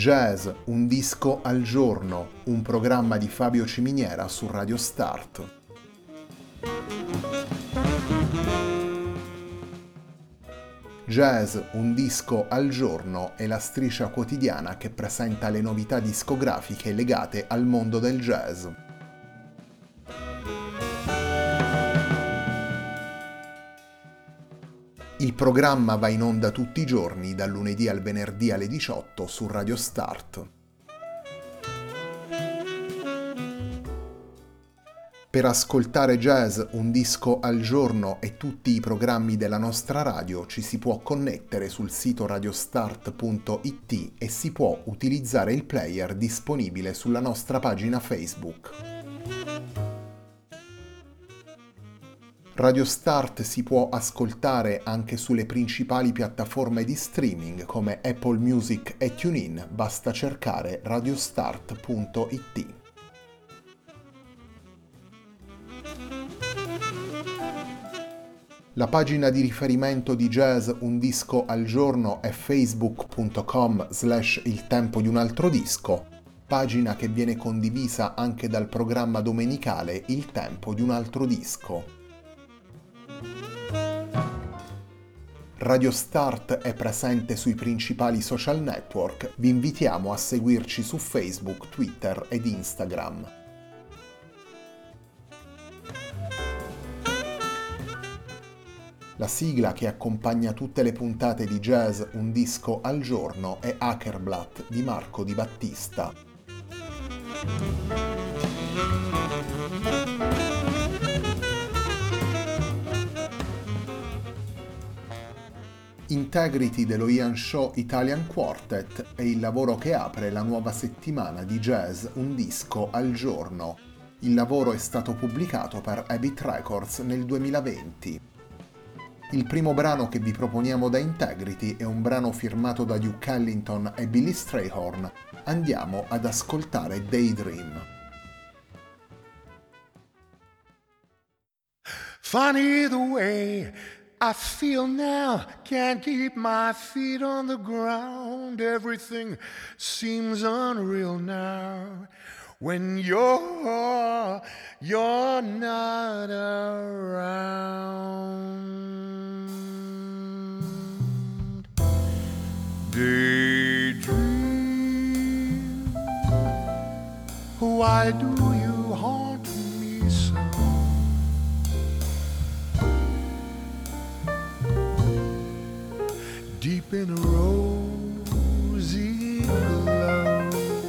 Jazz, un disco al giorno, un programma di Fabio Ciminiera su Radio Start. Jazz, un disco al giorno è la striscia quotidiana che presenta le novità discografiche legate al mondo del jazz. Il programma va in onda tutti i giorni, dal lunedì al venerdì alle 18 su Radio Start. Per ascoltare Jazz, un disco al giorno e tutti i programmi della nostra radio ci si può connettere sul sito radiostart.it e si può utilizzare il player disponibile sulla nostra pagina Facebook. Radio Start si può ascoltare anche sulle principali piattaforme di streaming come Apple Music e TuneIn, basta cercare radiostart.it. La pagina di riferimento di Jazz Un Disco al Giorno è facebook.com/il tempo di un altro disco, pagina che viene condivisa anche dal programma domenicale Il tempo di un altro disco. Radio Start è presente sui principali social network, vi invitiamo a seguirci su Facebook, Twitter ed Instagram. La sigla che accompagna tutte le puntate di Jazz Un Disco al Giorno è Hackerblatt di Marco Di Battista. Integrity dello Ian Shaw Italian Quartet è il lavoro che apre la nuova settimana di Jazz Un Disco al Giorno. Il lavoro è stato pubblicato per Habit Records nel 2020. Il primo brano che vi proponiamo da Integrity è un brano firmato da Duke Ellington e Billy Strayhorn. Andiamo ad ascoltare Daydream. Funny the way I feel now, can't keep my feet on the ground. Everything seems unreal now when you're not around. Daydream, why do you haunt me so? Deep in a rosy glow,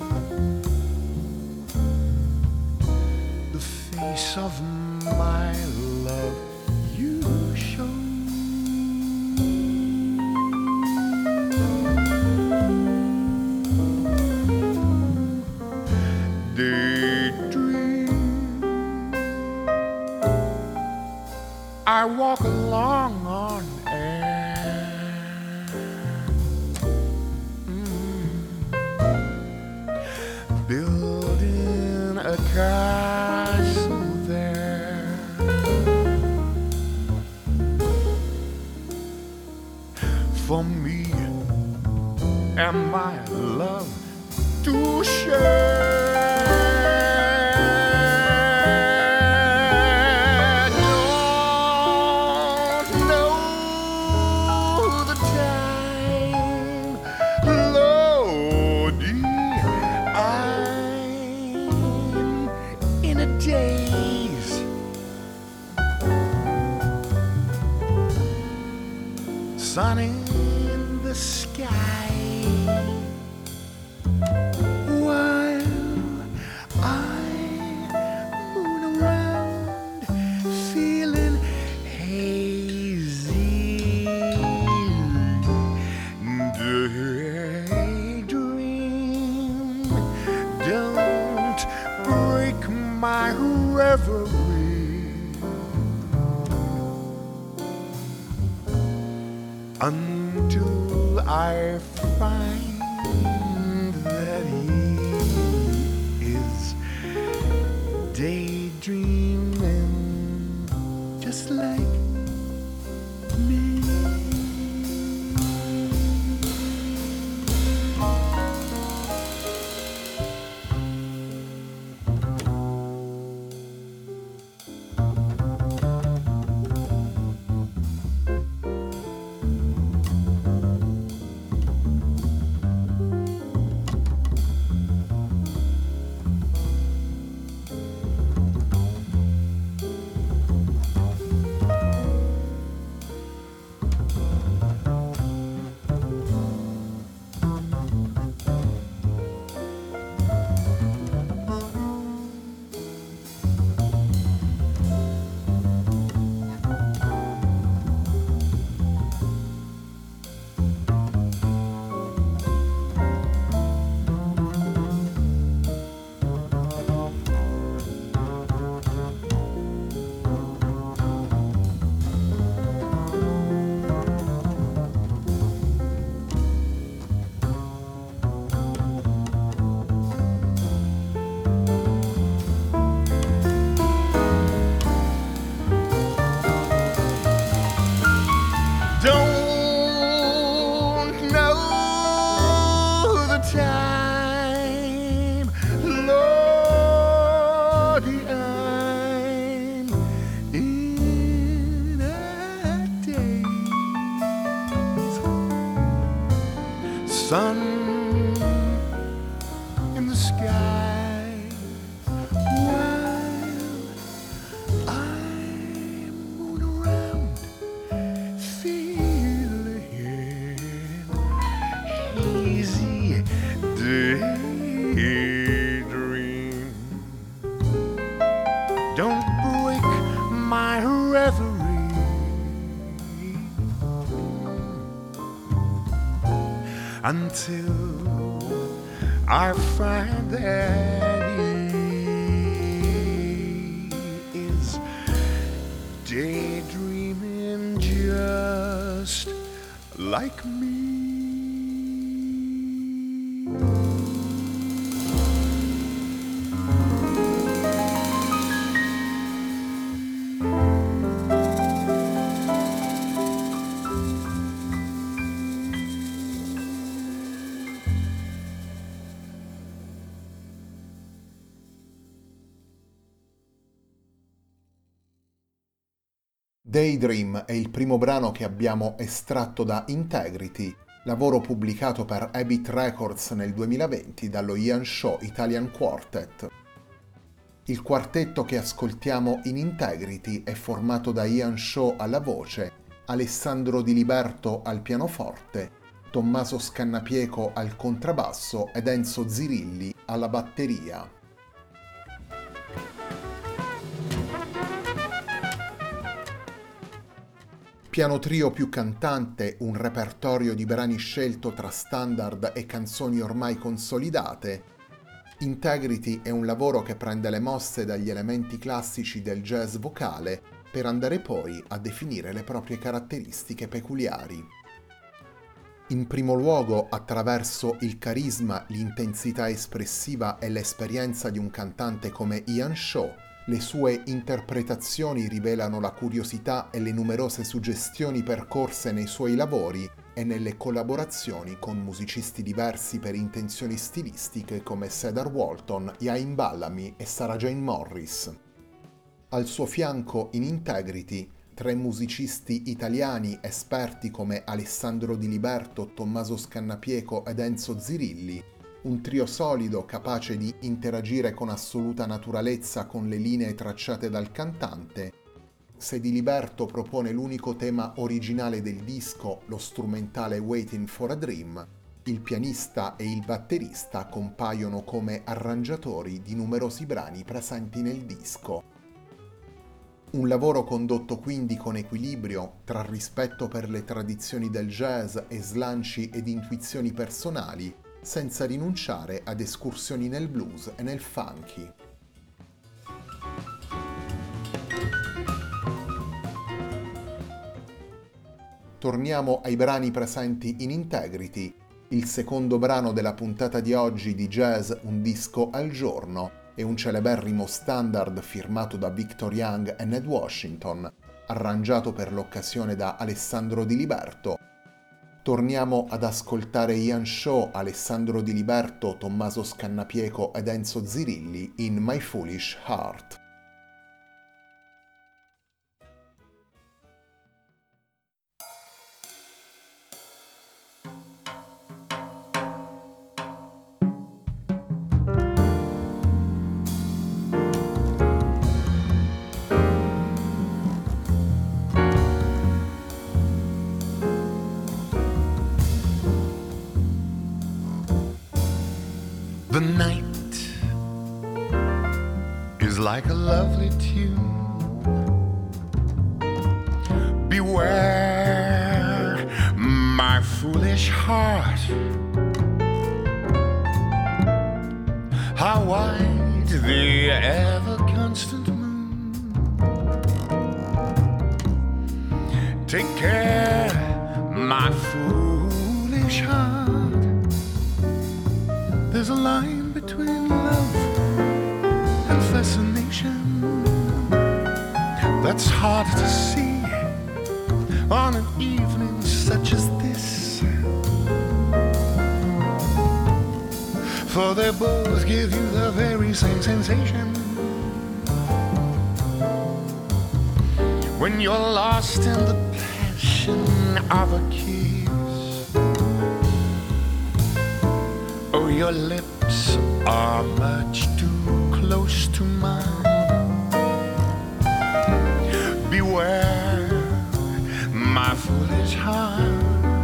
the face of my love you show. Daydream, I walk along on air, building a castle there. For me and my love to share. Don't know the time, Lordy, I'm in a daze. Sun in the sky, while I moon around, feeling hazy. Daydream, don't break my reverie until I find that he is daydreaming just like me. sun in the sky while I moon around feeling easy daydream. Don't break my reverie until I find that he is daydreaming just like me. Daydream è il primo brano che abbiamo estratto da Integrity, lavoro pubblicato per Habit Records nel 2020 dallo Ian Shaw Italian Quartet. Il quartetto che ascoltiamo in Integrity è formato da Ian Shaw alla voce, Alessandro Di Liberto al pianoforte, Tommaso Scannapieco al contrabbasso ed Enzo Zirilli alla batteria. Piano trio più cantante, un repertorio di brani scelto tra standard e canzoni ormai consolidate, Integrity è un lavoro che prende le mosse dagli elementi classici del jazz vocale per andare poi a definire le proprie caratteristiche peculiari. In primo luogo, attraverso il carisma, l'intensità espressiva e l'esperienza di un cantante come Ian Shaw, le sue interpretazioni rivelano la curiosità e le numerose suggestioni percorse nei suoi lavori e nelle collaborazioni con musicisti diversi per intenzioni stilistiche come Cedar Walton, Ian Bellamy e Sarah Jane Morris. Al suo fianco in Integrity, 3 musicisti italiani esperti come Alessandro Di Liberto, Tommaso Scannapieco ed Enzo Zirilli, un trio solido capace di interagire con assoluta naturalezza con le linee tracciate dal cantante. Se Di Liberto propone l'unico tema originale del disco, lo strumentale Waiting for a Dream, il pianista e il batterista compaiono come arrangiatori di numerosi brani presenti nel disco. Un lavoro condotto quindi con equilibrio tra rispetto per le tradizioni del jazz e slanci ed intuizioni personali, senza rinunciare ad escursioni nel blues e nel funky. Torniamo ai brani presenti in Integrity, il secondo brano della puntata di oggi di Jazz Un disco al giorno è un celeberrimo standard firmato da Victor Young e Ned Washington, arrangiato per l'occasione da Alessandro Di Liberto. Torniamo ad ascoltare Ian Shaw, Alessandro Di Liberto, Tommaso Scannapieco ed Enzo Zirilli in My Foolish Heart. The night is like a lovely tune. Beware, my foolish heart. How wide the ever-constant moon. Take care, my foolish heart. There's a line between love and fascination that's hard to see on an evening such as this. For they both give you the very same sensation when you're lost in the passion of a kiss. Your lips are much too close to mine. Beware, my foolish heart.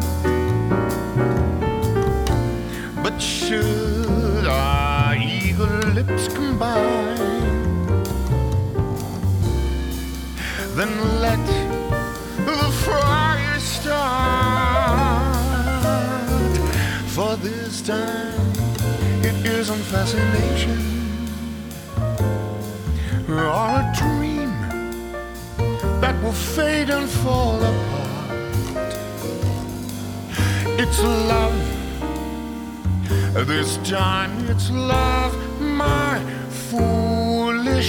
But should our eager lips combine, then let the fire start. For this time it isn't fascination or a dream that will fade and fall apart. It's love. This time it's love, my foolish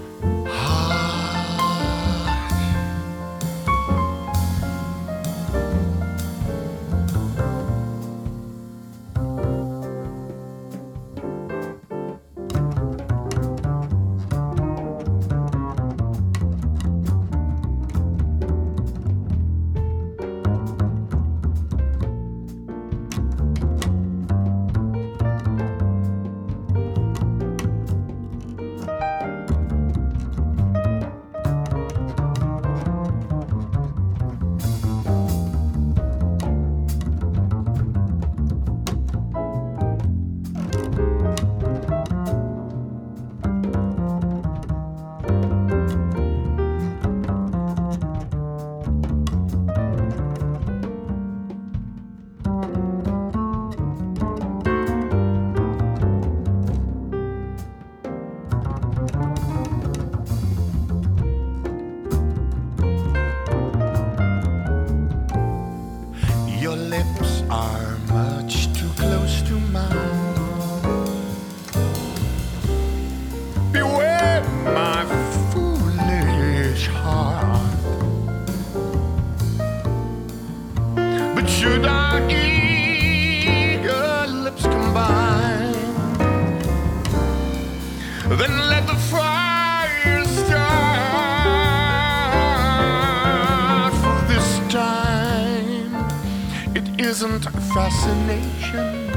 should our eager lips combine, then let the fire start. For this time it isn't fascination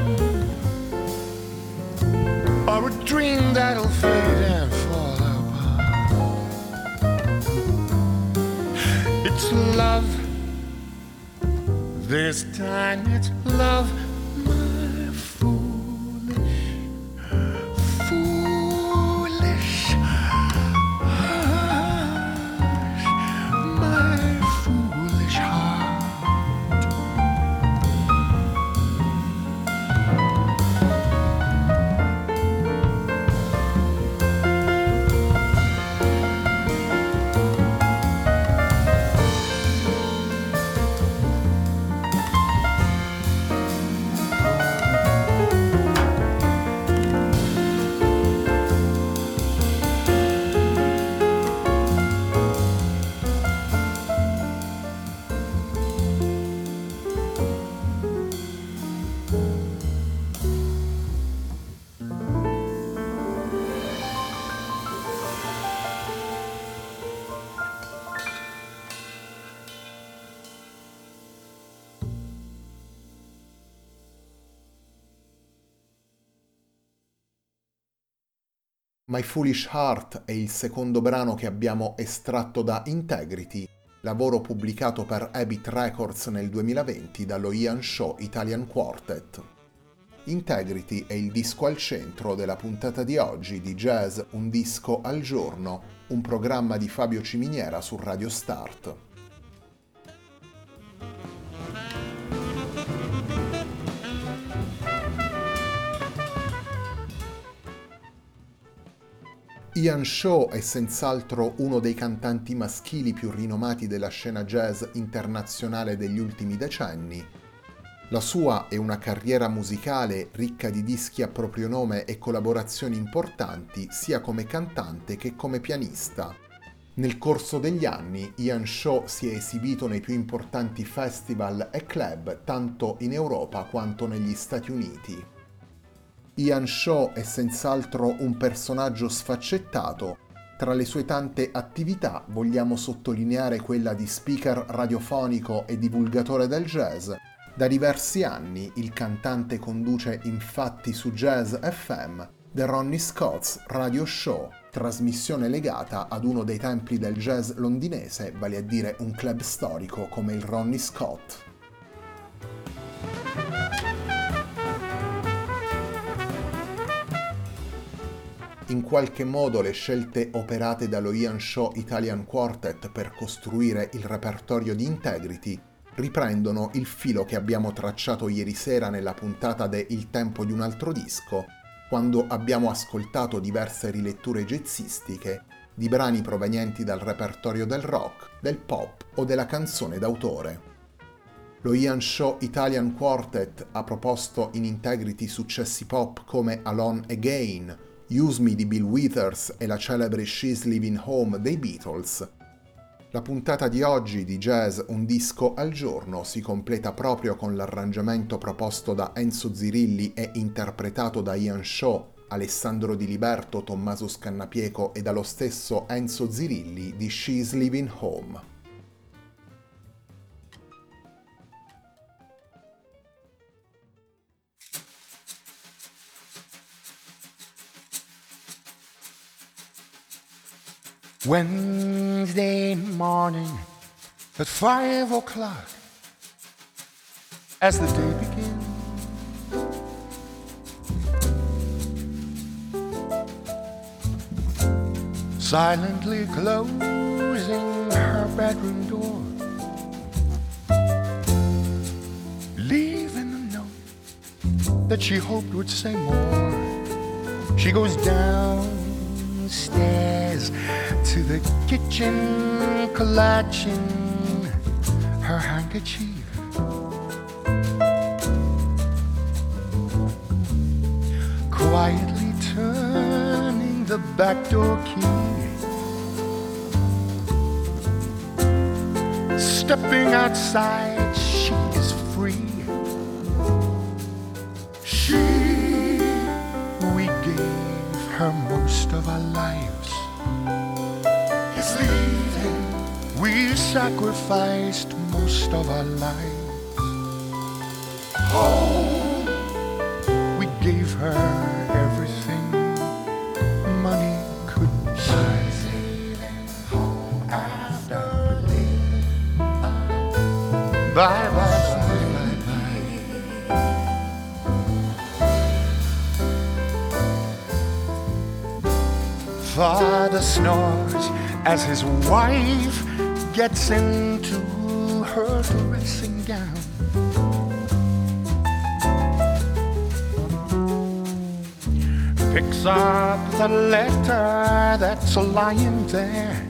or a dream that'll fade and fall apart. It's love. This time it's love, my foolish, foolish heart, my foolish heart. My Foolish Heart è il secondo brano che abbiamo estratto da Integrity, lavoro pubblicato per Habit Records nel 2020 dallo Ian Shaw Italian Quartet. Integrity è il disco al centro della puntata di oggi di Jazz Un disco al giorno, un programma di Fabio Ciminiera su Radio Start. Ian Shaw è senz'altro uno dei cantanti maschili più rinomati della scena jazz internazionale degli ultimi decenni. La sua è una carriera musicale ricca di dischi a proprio nome e collaborazioni importanti sia come cantante che come pianista. Nel corso degli anni Ian Shaw si è esibito nei più importanti festival e club tanto in Europa quanto negli Stati Uniti. Ian Shaw è senz'altro un personaggio sfaccettato. Tra le sue tante attività vogliamo sottolineare quella di speaker radiofonico e divulgatore del jazz, Da diversi anni il cantante conduce infatti su Jazz FM The Ronnie Scott's Radio Show, trasmissione legata ad uno dei templi del jazz londinese, vale a dire un club storico come il Ronnie Scott. In qualche modo le scelte operate dallo Ian Shaw Italian Quartet per costruire il repertorio di Integrity riprendono il filo che abbiamo tracciato ieri sera nella puntata de Il tempo di un altro disco, quando abbiamo ascoltato diverse riletture jazzistiche di brani provenienti dal repertorio del rock, del pop o della canzone d'autore. Lo Ian Shaw Italian Quartet ha proposto in Integrity successi pop come Alone Again, Use Me di Bill Withers e la celebre She's Leaving Home dei Beatles. La puntata di oggi di Jazz Un disco al giorno si completa proprio con l'arrangiamento proposto da Enzo Zirilli e interpretato da Ian Shaw, Alessandro Di Liberto, Tommaso Scannapieco e dallo stesso Enzo Zirilli di She's Leaving Home. Wednesday morning at 5 o'clock, as the day begins, silently closing her bedroom door, leaving a note that she hoped would say more. She goes downstairs to the kitchen, clutching her handkerchief. Quietly turning the back door key, stepping outside, she is free. We gave her most of our lives. It's leaving. We sacrificed most of our lives. Home. We gave her everything money could buy. Home after leaving. Bye, bye, bye. Father snores as his wife gets into her dressing gown. Picks up the letter that's lying there,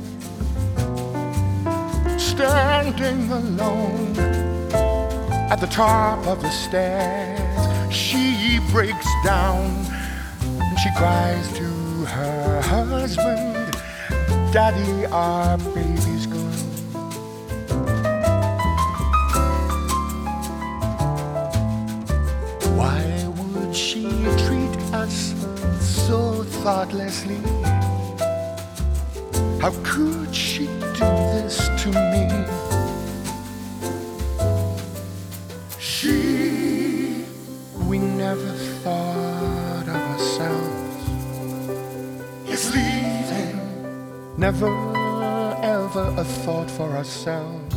standing alone at the top of the stairs. She breaks down and she cries to her husband, Daddy, our baby's gone. Why would she treat us so thoughtlessly? How could she do this to me? We never thought of ourselves. It's leaving. Never ever a thought for ourselves.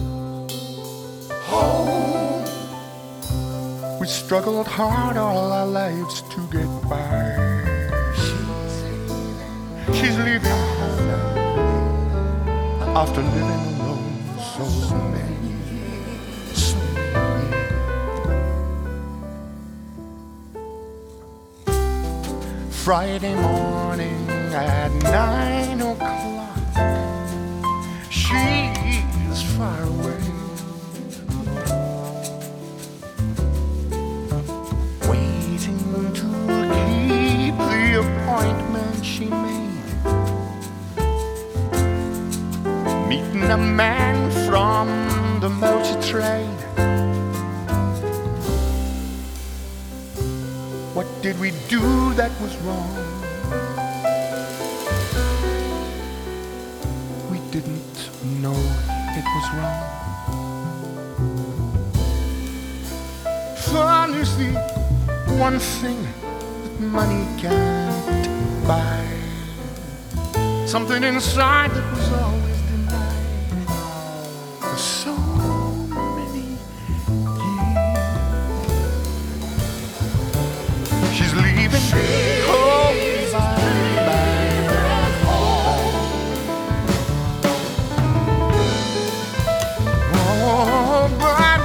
Home. We struggled hard all our lives to get by. She's leaving after living alone so many years. Friday morning at 9 o'clock, she's far away, waiting to keep the appointment she made, meeting a man from the motor trade. What did we do that was wrong? We didn't know it was wrong. the one thing that money can't buy. Something inside that was always denied for so many years. She's leaving. Oh, bye, bye. Oh, bye,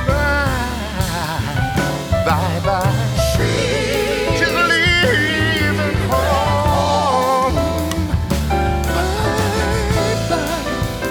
bye. Bye, bye. She's leaving home. Bye, bye.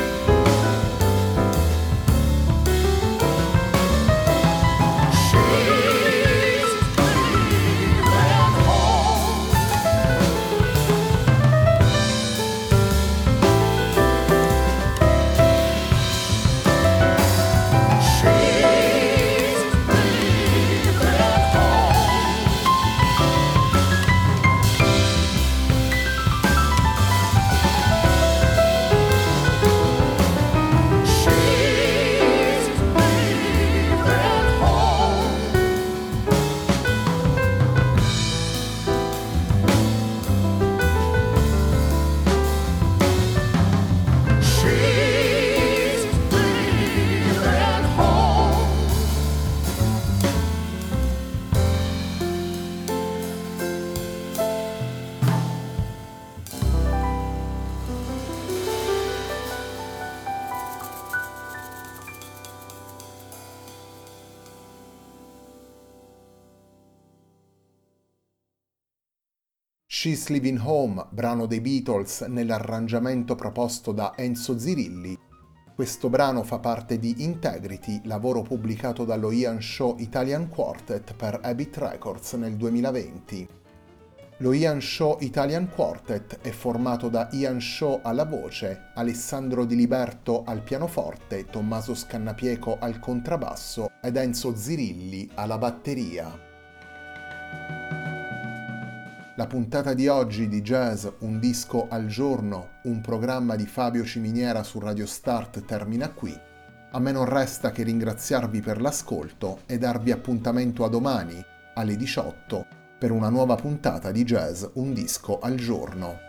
She's Leaving Home, brano dei Beatles nell'arrangiamento proposto da Enzo Zirilli. Questo brano fa parte di Integrity, lavoro pubblicato dallo Ian Shaw Italian Quartet per Habit Records nel 2020. Lo Ian Shaw Italian Quartet è formato da Ian Shaw alla voce, Alessandro Di Liberto al pianoforte, Tommaso Scannapieco al contrabbasso ed Enzo Zirilli alla batteria. La puntata di oggi di Jazz Un disco al giorno, un programma di Fabio Ciminiera su Radio Start termina qui. A me non resta che ringraziarvi per l'ascolto e darvi appuntamento a domani, alle 18, per una nuova puntata di Jazz Un disco al giorno.